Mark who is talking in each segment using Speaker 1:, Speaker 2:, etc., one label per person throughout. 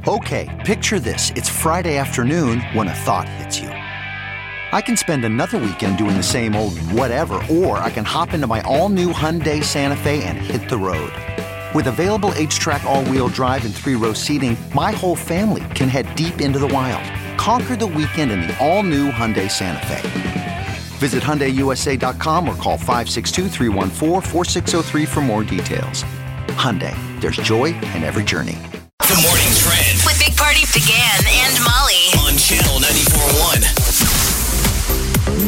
Speaker 1: Okay, picture this. It's Friday afternoon when a thought hits you. I can spend another weekend doing the same old whatever, or I can hop into my all-new Hyundai Santa Fe and hit the road. With available H-Track all-wheel drive and 3-row seating, my whole family can head deep into the wild. Conquer the weekend in the all-new Hyundai Santa Fe. Visit HyundaiUSA.com or call 562-314-4603 for more details. Hyundai, there's joy in every journey.
Speaker 2: The Morning Trend
Speaker 3: With Big Party began and Molly.
Speaker 2: on Channel 94.1.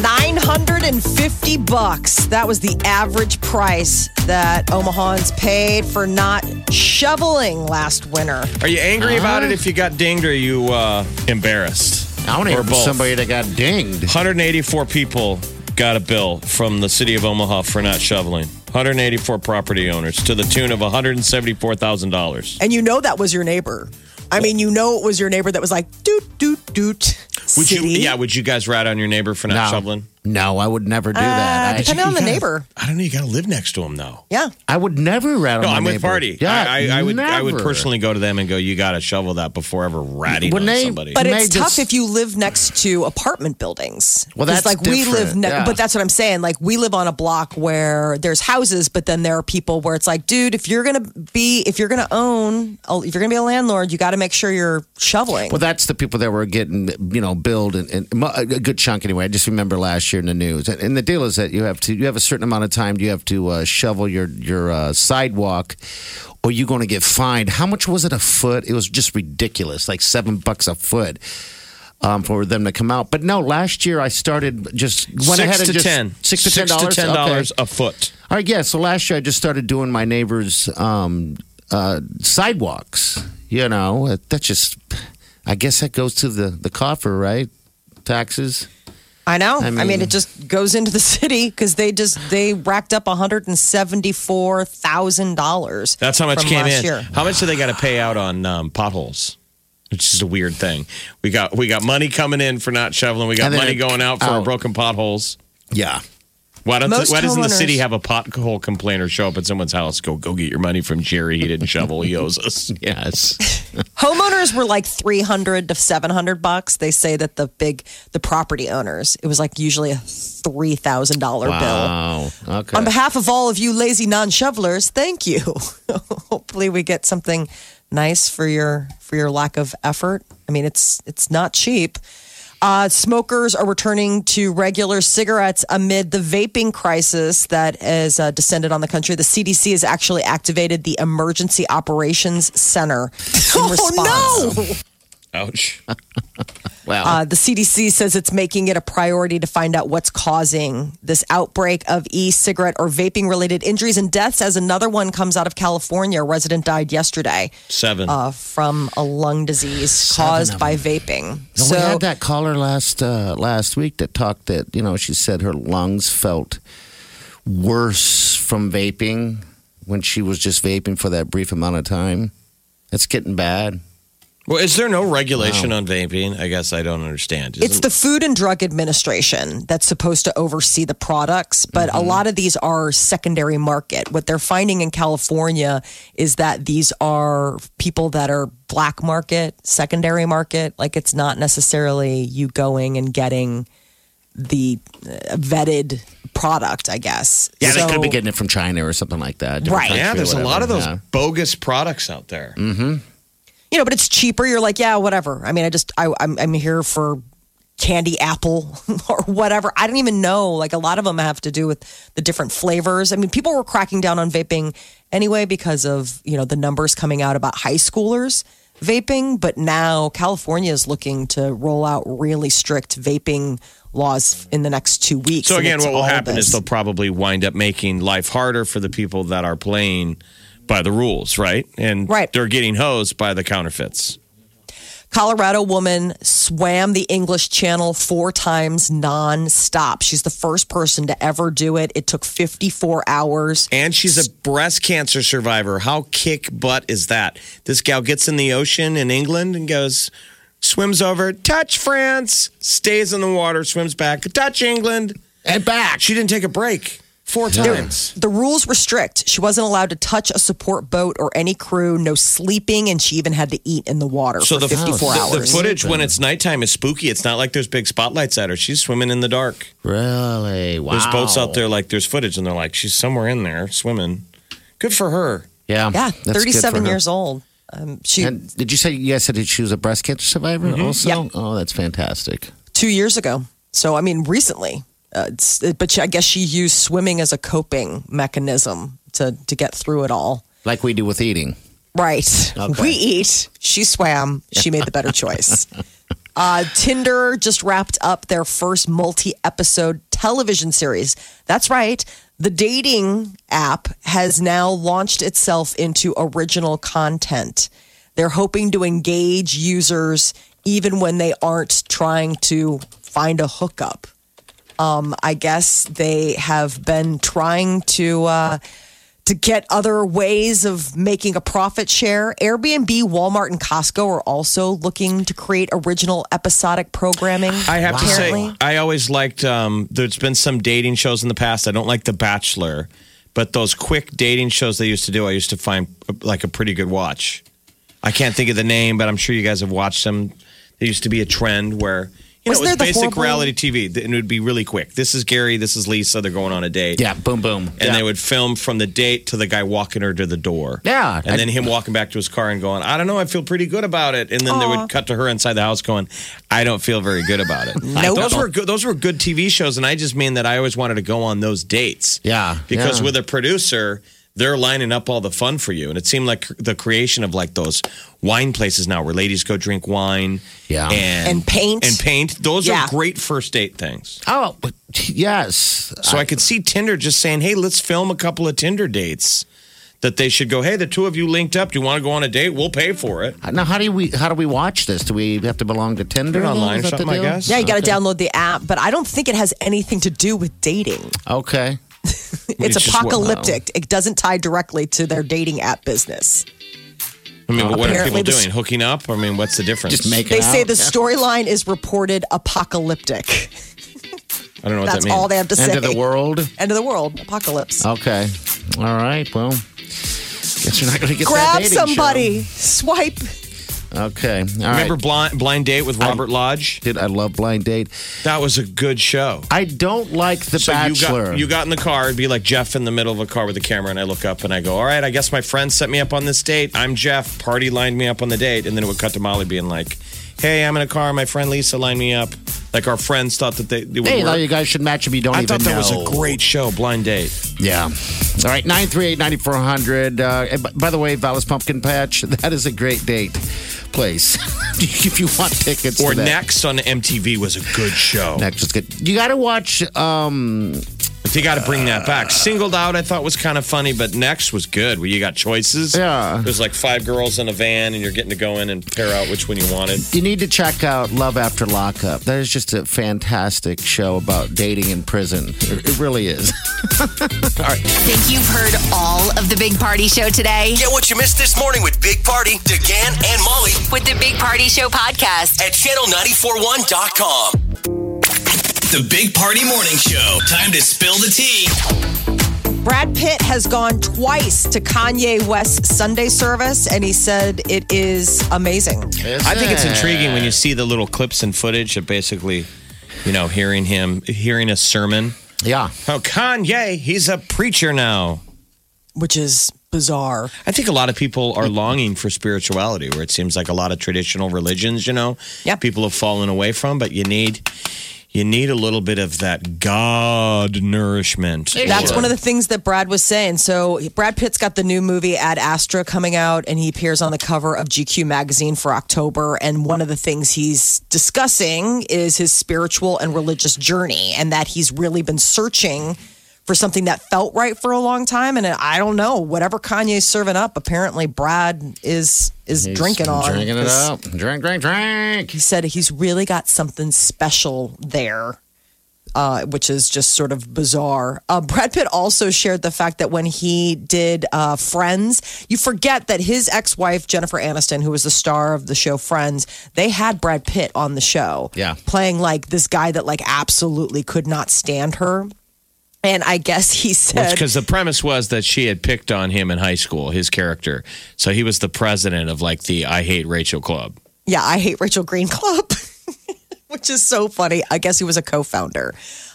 Speaker 4: $950. That was the average price that Omahans paid for not shoveling last winter.
Speaker 5: Are you angry about it if you got dinged, or are you embarrassed?
Speaker 6: I want to
Speaker 5: Or
Speaker 6: hear from
Speaker 5: both.
Speaker 6: somebody that got dinged.
Speaker 5: 184 people got a bill from the city of Omaha for not shoveling. 184 property owners to the tune of $174,000.
Speaker 4: And you know that was your neighbor. I mean, you know it was your neighbor that was like, doot, doot, doot.
Speaker 5: Would you?
Speaker 4: City.
Speaker 5: Yeah. Would you guys rat on your neighbor for not shoveling?
Speaker 6: No, I would never do that.
Speaker 4: Depending on the neighbor.
Speaker 5: I don't know. You got to live next to him, though.
Speaker 4: Yeah.
Speaker 6: I would never rat on
Speaker 5: No,
Speaker 6: my
Speaker 5: I'm with
Speaker 6: neighbor.
Speaker 5: Party.
Speaker 6: Yeah,
Speaker 5: I would
Speaker 6: never.
Speaker 5: personally go to them and go, you got to shovel that before ever ratting
Speaker 6: When
Speaker 5: on
Speaker 6: they-
Speaker 5: somebody.
Speaker 4: But
Speaker 6: May
Speaker 4: it's tough
Speaker 6: just-
Speaker 4: if you live next to apartment buildings.
Speaker 6: Well,
Speaker 4: 'Cause,
Speaker 6: that's
Speaker 4: like we live
Speaker 6: different, yeah.
Speaker 4: but that's what I'm saying. Like we live on a block where there's houses, but then there are people where it's like, dude, if you're gonna be a landlord, you got to make sure you're shoveling.
Speaker 6: Well, that's the people that were getting, billed and a good chunk anyway. I just remember last year in the news. And the deal is that you have a certain amount of time. You have to shovel your sidewalk, or you're going to get fined. How much was it a foot? It was just ridiculous, like $7 a foot. For them to come out, but no. Last year I started just went ahead and just $6 to $10
Speaker 5: a foot.
Speaker 6: All right, yeah. So last year I just started doing my neighbors' sidewalks. That's just. I guess that goes to the coffer, right? Taxes.
Speaker 4: I know.
Speaker 6: I
Speaker 4: I mean,
Speaker 6: mean-
Speaker 4: it just goes into the city because they racked up $174,000.
Speaker 5: That's how much
Speaker 4: from
Speaker 5: came
Speaker 4: last
Speaker 5: in.
Speaker 4: year.
Speaker 5: How much do they got to pay out on potholes? Which is a weird thing. We got money coming in for not shoveling. We got
Speaker 6: And then
Speaker 5: money going out for our
Speaker 6: out.
Speaker 5: broken potholes.
Speaker 6: Yeah.
Speaker 5: Why doesn't the
Speaker 4: Homeowners-
Speaker 5: city have a pothole complainer show up at someone's house? Go get your money from Jerry. He didn't shovel. He owes us.
Speaker 6: Yes.
Speaker 4: Homeowners were like $300 to $700. They say that the property owners, it was like usually a $3,000 bill.
Speaker 6: Wow. Okay.
Speaker 4: On behalf of all of you lazy non-shovelers, thank you. Hopefully we get something nice for your lack of effort. I mean, it's not cheap. Smokers are returning to regular cigarettes amid the vaping crisis that has descended on the country. The CDC has actually activated the Emergency Operations Center in response. No!
Speaker 5: Ouch.
Speaker 6: Wow.
Speaker 4: The CDC says it's making it a priority to find out what's causing this outbreak of e-cigarette or vaping-related injuries and deaths as another one comes out of California. A resident died yesterday
Speaker 5: 7.
Speaker 4: from a lung disease
Speaker 6: 7
Speaker 4: caused
Speaker 6: of
Speaker 4: by
Speaker 6: them.
Speaker 4: vaping.
Speaker 6: We had that caller last week that talked that, she said her lungs felt worse from vaping when she was just vaping for that brief amount of time. It's getting bad.
Speaker 5: Well, is there no regulation on vaping? I guess I don't understand.
Speaker 4: It's the Food and Drug Administration that's supposed to oversee the products, but a lot of these are secondary market. What they're finding in California is that these are people that are black market, secondary market. Like it's not necessarily you going and getting the vetted product, I guess.
Speaker 6: Yeah, they
Speaker 4: So-
Speaker 6: could be getting it from China or something like that. different
Speaker 4: Right.
Speaker 6: country
Speaker 5: Yeah,
Speaker 6: or
Speaker 5: there's a lot of
Speaker 6: whatever.
Speaker 5: those bogus products out there.
Speaker 4: but it's cheaper. You're like, yeah, whatever. I mean, I'm here for candy apple or whatever. I don't even know. Like a lot of them have to do with the different flavors. I mean, people were cracking down on vaping anyway because of, the numbers coming out about high schoolers vaping. But now California is looking to roll out really strict vaping laws in the next 2 weeks.
Speaker 5: So
Speaker 4: And
Speaker 5: again,
Speaker 4: it's
Speaker 5: what will
Speaker 4: all
Speaker 5: happen
Speaker 4: this.
Speaker 5: is they'll probably wind up making life harder for the people that are playing by the rules, right? And
Speaker 4: Right.
Speaker 5: they're getting hosed by the counterfeits.
Speaker 4: Colorado woman swam the English Channel 4 times nonstop. She's the first person to ever do it. It took 54 hours.
Speaker 5: And she's a breast cancer survivor. How kick butt is that? This gal gets in the ocean in England and goes, swims over, touch France, stays in the water, swims back, touch England.
Speaker 6: And back.
Speaker 5: She didn't take a break. 4 times.
Speaker 4: The rules were strict. She wasn't allowed to touch a support boat or any crew, no sleeping, and she even had to eat in the water for 54 hours.
Speaker 5: The footage when it's nighttime is spooky. It's not like there's big spotlights at her. She's swimming in the dark.
Speaker 6: Really? Wow.
Speaker 5: There's boats out there, like there's footage, and they're like, she's somewhere in there swimming. Good for her.
Speaker 6: Yeah.
Speaker 4: Yeah,
Speaker 6: that's good
Speaker 4: 37
Speaker 6: for her.
Speaker 4: years old.
Speaker 6: And did you say you guys said she was a breast cancer survivor also?
Speaker 4: Yep.
Speaker 6: Oh, that's fantastic.
Speaker 4: 2 years ago. So, I mean, recently. But I guess she used swimming as a coping mechanism to get through it all.
Speaker 6: Like we do with eating.
Speaker 4: Right.
Speaker 6: Okay.
Speaker 4: We eat. She swam. She made the better choice. Tinder just wrapped up their first multi-episode television series. That's right. The dating app has now launched itself into original content. They're hoping to engage users even when they aren't trying to find a hookup. I guess they have been trying to get other ways of making a profit share. Airbnb, Walmart, and Costco are also looking to create original episodic programming.
Speaker 5: I have to
Speaker 4: apparently.
Speaker 5: say, I always liked, there's been some dating shows in the past. I don't like The Bachelor, but those quick dating shows they used to do, I used to find like a pretty good watch. I can't think of the name, but I'm sure you guys have watched them. There used to be a trend where... it
Speaker 4: Wasn't
Speaker 5: was
Speaker 4: there the
Speaker 5: basic
Speaker 4: horrible-
Speaker 5: reality TV, and it would be really quick. This is Gary, this is Lisa, they're going on a date.
Speaker 6: Yeah, boom, boom.
Speaker 5: And they would film from the date to the guy walking her to the door.
Speaker 6: Yeah.
Speaker 5: And then him walking back to his car and going, I don't know, I feel pretty good about it. And then they would cut to her inside the house going, I don't feel very good about it.
Speaker 4: Nope.
Speaker 5: Those were good TV shows, and I just mean that I always wanted to go on those dates.
Speaker 6: Yeah.
Speaker 5: Because
Speaker 6: yeah.
Speaker 5: with a producer, they're lining up all the fun for you. And it seemed like the creation of like those wine places now where ladies go drink wine.
Speaker 6: Yeah.
Speaker 4: And paint.
Speaker 5: And paint. Those
Speaker 4: Yeah.
Speaker 5: are great first date things.
Speaker 6: Oh, but yes.
Speaker 5: So I could see Tinder just saying, hey, let's film a couple of Tinder dates. That they should go, hey, the two of you linked up. Do you want to go on a date? We'll pay for it.
Speaker 6: Now, how do we watch this? Do we have to belong to Tinder?
Speaker 5: Put it online
Speaker 6: Is
Speaker 5: or
Speaker 6: that the
Speaker 5: something, I
Speaker 6: deal?
Speaker 5: guess.
Speaker 4: Yeah, you got to download the app, but I don't think it has anything to do with dating.
Speaker 6: Okay.
Speaker 4: It's
Speaker 5: just
Speaker 4: apocalyptic. It doesn't tie directly to their dating app business.
Speaker 5: I mean, what are
Speaker 4: Apparently
Speaker 5: people
Speaker 4: this-
Speaker 5: doing? Hooking up? I mean, what's the difference?
Speaker 6: Just make
Speaker 4: They
Speaker 6: it
Speaker 4: say
Speaker 6: out.
Speaker 4: the storyline is reported apocalyptic.
Speaker 5: I don't know what
Speaker 4: That's
Speaker 5: that means.
Speaker 4: all they have to say.
Speaker 6: End of the world.
Speaker 4: End of the world. Apocalypse.
Speaker 6: Okay. All right. Well, guess you're not going to get that
Speaker 4: Grab
Speaker 6: dating
Speaker 4: somebody. Swipe.
Speaker 6: show. Okay. All
Speaker 5: Remember
Speaker 6: right.
Speaker 5: Blind Date with Robert Lodge?
Speaker 6: Dude, I love Blind Date.
Speaker 5: That was a good show.
Speaker 6: I don't like The Bachelor.
Speaker 5: You got in the car. It'd be like Jeff in the middle of a car with a camera, and I look up and I go, all right, I guess my friend set me up on this date. I'm Jeff. Party lined me up on the date. And then it would cut to Molly being like, hey, I'm in a car. My friend Lisa lined me up. Like our friends thought that it would
Speaker 6: Hey,
Speaker 5: work.
Speaker 6: you guys should match if you don't
Speaker 5: I
Speaker 6: even
Speaker 5: thought that
Speaker 6: know.
Speaker 5: was a great show, Blind Date.
Speaker 6: Yeah. All right, 938-9400. By the way, Vallis Pumpkin Patch, that is a great date place. If you want tickets
Speaker 5: Or
Speaker 6: to that.
Speaker 5: Next on MTV was a good show.
Speaker 6: Next is good. You got to watch
Speaker 5: They got to bring that back. Singled Out, I thought was kind of funny, but Next was good. Where you got choices.
Speaker 6: Yeah.
Speaker 5: There's like 5 girls in a van, and you're getting to go in and pair out which one you wanted.
Speaker 6: you need to check out Love After Lockup. That is just a fantastic show about dating in prison. It really is. All right.
Speaker 3: Think you've heard all of the Big Party Show today?
Speaker 2: Get what you missed this morning with Big Party, DeGan, and Molly
Speaker 3: With the Big Party Show podcast.
Speaker 2: at channel941.com. The Big Party Morning Show. Time to spill the tea.
Speaker 4: Brad Pitt has gone twice to Kanye West's Sunday service, and he said it is amazing.
Speaker 5: I think it's intriguing when you see the little clips and footage of basically, hearing a sermon.
Speaker 6: Yeah.
Speaker 5: Oh, Kanye, he's a preacher now.
Speaker 4: Which is bizarre.
Speaker 5: I think a lot of people are longing for spirituality, where it seems like a lot of traditional religions,
Speaker 4: Yep.
Speaker 5: people have fallen away from, but you need a little bit of that God nourishment.
Speaker 4: That's one of the things that Brad was saying. So Brad Pitt's got the new movie Ad Astra coming out, and he appears on the cover of GQ magazine for October. And one of the things he's discussing is his spiritual and religious journey, and that he's really been searching for something that felt right for a long time. And I don't know, whatever Kanye's serving up, apparently Brad is drinking on.
Speaker 6: Drinking it up. Drink.
Speaker 4: He said he's really got something special there, which is just sort of bizarre. Brad Pitt also shared the fact that when he did Friends, you forget that his ex-wife, Jennifer Aniston, who was the star of the show Friends, they had Brad Pitt on the show.
Speaker 6: Yeah.
Speaker 4: Playing like this guy that like absolutely could not stand her. And I guess he said,
Speaker 5: because the premise was that she had picked on him in high school, his character. So he was the president of like the I Hate Rachel Club.
Speaker 4: yeah, I Hate Rachel Green Club, which is so funny. I guess he was a co-founder.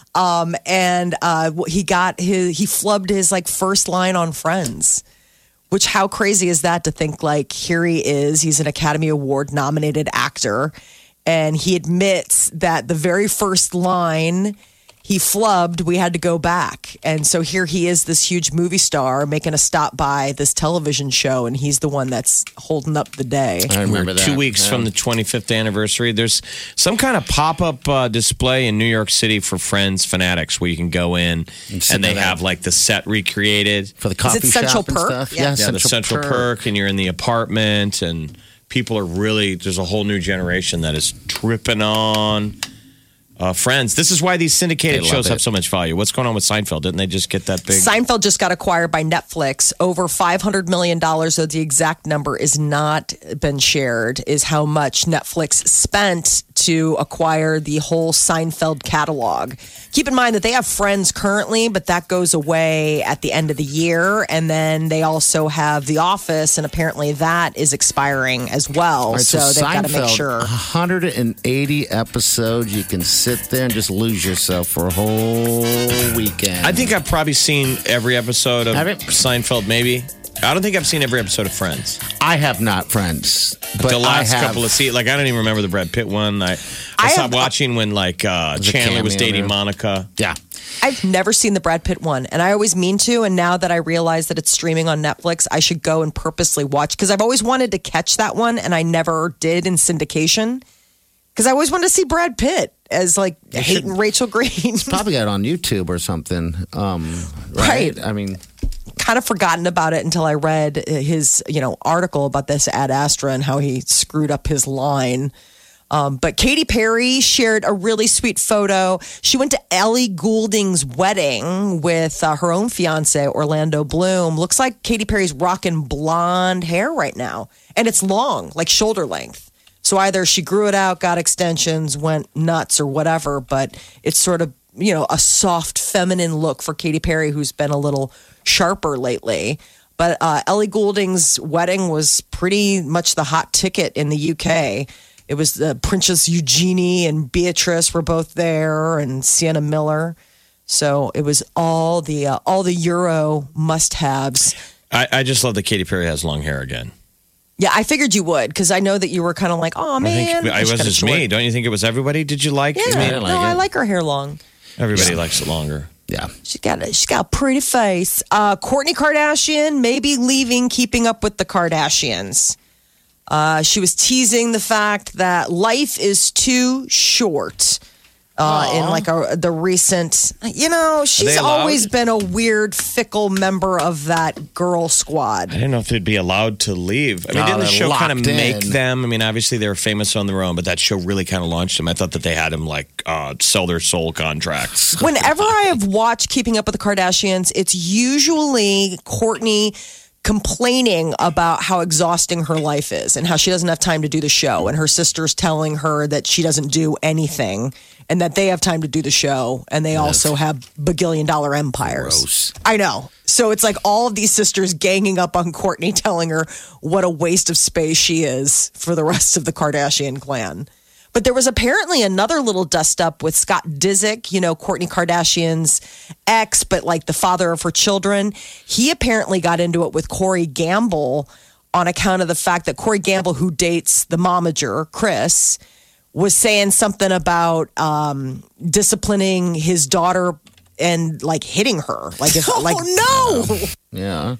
Speaker 4: And he flubbed his like first line on Friends, which how crazy is that to think like here he is, he's an Academy Award nominated actor. And he admits that the very first line he flubbed, we had to go back. And so here he is, this huge movie star making a stop by this television show. And he's the one that's holding up the day.
Speaker 6: I remember that.
Speaker 5: 2 weeks from the 25th anniversary. There's some kind of pop-up display in New York City for Friends fanatics where you can go in and they have like the set recreated.
Speaker 6: For the coffee
Speaker 4: Central
Speaker 6: shop and
Speaker 4: Perk?
Speaker 6: stuff.
Speaker 4: Yeah.
Speaker 5: The Central Perk, and you're in the apartment, and people are really, there's a whole new generation that is tripping on Friends. This is why these syndicated shows have so much value. What's going on with Seinfeld? Didn't they just get that big?
Speaker 4: Seinfeld just got acquired by Netflix. Over $500 million, though the exact number is not been shared, is how much Netflix spent to acquire the whole Seinfeld catalog. Keep in mind that they have Friends currently, but that goes away at the end of the year. And then they also have The Office, and apparently that is expiring as well.
Speaker 6: All right,
Speaker 4: so they've got to make
Speaker 6: Seinfeld,
Speaker 4: sure.
Speaker 6: 180 episodes. You can sit there and just lose yourself for a whole weekend.
Speaker 5: I think I've probably seen every episode of
Speaker 6: Have you?
Speaker 5: Seinfeld, maybe. I don't think I've seen every episode of Friends.
Speaker 6: I have not, Friends. But
Speaker 5: The last
Speaker 6: I have,
Speaker 5: couple of seasons, like I don't even remember the Brad Pitt one. I stopped watching when like Chandler was
Speaker 6: cameo
Speaker 5: dating
Speaker 6: there.
Speaker 5: Monica.
Speaker 6: Yeah.
Speaker 4: I've never seen the Brad Pitt one, and I always mean to. And now that I realize that it's streaming on Netflix, I should go and purposely watch because I've always wanted to catch that one, and I never did in syndication because I always wanted to see Brad Pitt as like hating Rachel Green.
Speaker 6: Probably got it on YouTube or something. Right? I mean,
Speaker 4: Kind of forgotten about it until I read his article about this Ad Astra and how he screwed up his line. But Katy Perry shared a really sweet photo. She went to Ellie Goulding's wedding with her own fiance, Orlando Bloom. Looks like Katy Perry's rocking blonde hair right now. And it's long, like shoulder length. So either she grew it out, got extensions, went nuts or whatever. But it's sort of, a soft feminine look for Katy Perry, who's been a little sharper lately. But Ellie Goulding's wedding was pretty much the hot ticket in the UK. It was the Princess Eugenie and Beatrice were both there, and Sienna Miller. So it was all the Euro must-haves.
Speaker 5: I just love that Katy Perry has long hair again.
Speaker 4: Yeah, I figured you would because I know that you were kind of like, oh man,
Speaker 5: I was just me. Don't you think it was everybody? Did you like?
Speaker 4: Yeah,
Speaker 5: I mean,
Speaker 4: I like her hair long.
Speaker 5: everybody likes it longer.
Speaker 6: yeah.
Speaker 4: She's got a pretty face. Kourtney Kardashian may be leaving Keeping Up with the Kardashians. She was teasing the fact that life is too short. In like the recent, she's always been a weird, fickle member of that girl squad.
Speaker 5: I didn't know if they'd be allowed to leave. I mean, didn't the
Speaker 6: they're
Speaker 5: show kind of
Speaker 6: locked in.
Speaker 5: make them? I mean, obviously they were famous on their own, but that show really kind of launched them. I thought that they had them like sell their soul contracts.
Speaker 4: Whenever I have watched Keeping Up with the Kardashians, it's usually Kourtney complaining about how exhausting her life is and how she doesn't have time to do the show. And her sister's telling her that she doesn't do anything and that they have time to do the show. And they also have bagillion-dollar empires.
Speaker 6: Gross.
Speaker 4: I know. So it's like all of these sisters ganging up on Kourtney, telling her what a waste of space she is for the rest of the Kardashian clan. But there was apparently another little dust up with Scott Disick, Kourtney Kardashian's ex, but like the father of her children. He apparently got into it with Corey Gamble on account of the fact that Corey Gamble, who dates the momager, Chris, was saying something about disciplining his daughter and like hitting her. Like, if, no!
Speaker 6: Yeah.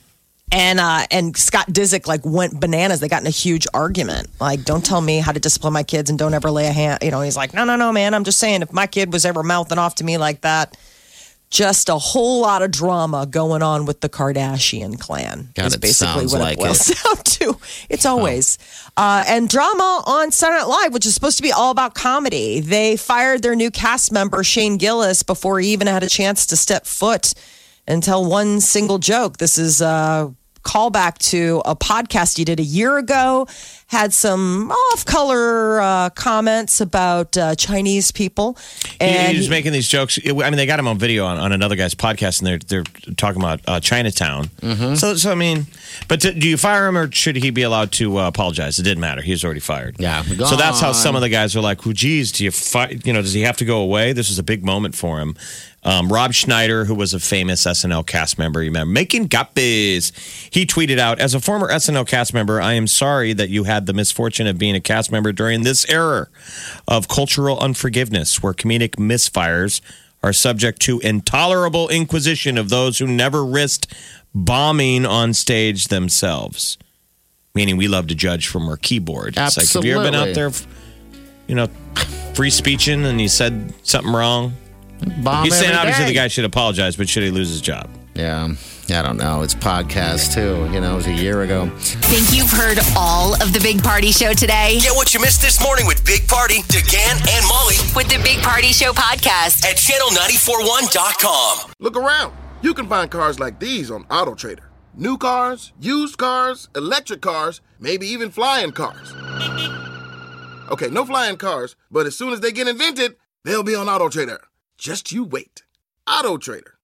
Speaker 4: And Scott Disick like went bananas. They got in a huge argument. Like, don't tell me how to discipline my kids and don't ever lay a hand. He's like, no, man. I'm just saying if my kid was ever mouthing off to me like that, just a whole lot of drama going on with the Kardashian clan.
Speaker 6: God,
Speaker 4: is
Speaker 6: it
Speaker 4: basically
Speaker 6: sounds
Speaker 4: what
Speaker 6: like
Speaker 4: it boils down to. It's always. And drama on Saturday Night Live, which is supposed to be all about comedy. They fired their new cast member, Shane Gillis, before he even had a chance to step foot and tell one single joke. This is callback to a podcast he did a year ago. Had some off-color comments about Chinese people. And
Speaker 5: he was making these jokes. I mean, they got him on video on another guy's podcast, and they're talking about Chinatown. So I mean, but do you fire him, or should he be allowed to apologize? It didn't matter. He was already fired.
Speaker 6: Yeah.
Speaker 5: So that's how some of the guys are like, "Well, geez, do you does he have to go away?" This was a big moment for him. Rob Schneider, who was a famous SNL cast member, you remember, making copies. He tweeted out, "As a former SNL cast member, I am sorry that you had the misfortune of being a cast member during this era of cultural unforgiveness, where comedic misfires are subject to intolerable inquisition of those who never risked bombing on stage themselves." Meaning, we love to judge from our keyboard. It's like, have you ever been out there, free speeching, and you said something wrong?
Speaker 6: Bomb
Speaker 5: He's saying
Speaker 6: every
Speaker 5: obviously
Speaker 6: day.
Speaker 5: the guy should apologize, but should he lose his job?
Speaker 6: Yeah. I don't know. It's podcast, too. It was a year ago.
Speaker 3: Think you've heard all of the Big Party Show today?
Speaker 2: Get what you missed this morning with Big Party, DeGan, and Molly
Speaker 3: With the Big Party Show podcast.
Speaker 2: at channel941.com.
Speaker 7: Look around. You can find cars like these on AutoTrader. New cars, used cars, electric cars, maybe even flying cars. Okay, no flying cars, but as soon as they get invented, they'll be on AutoTrader. Just you wait. AutoTrader.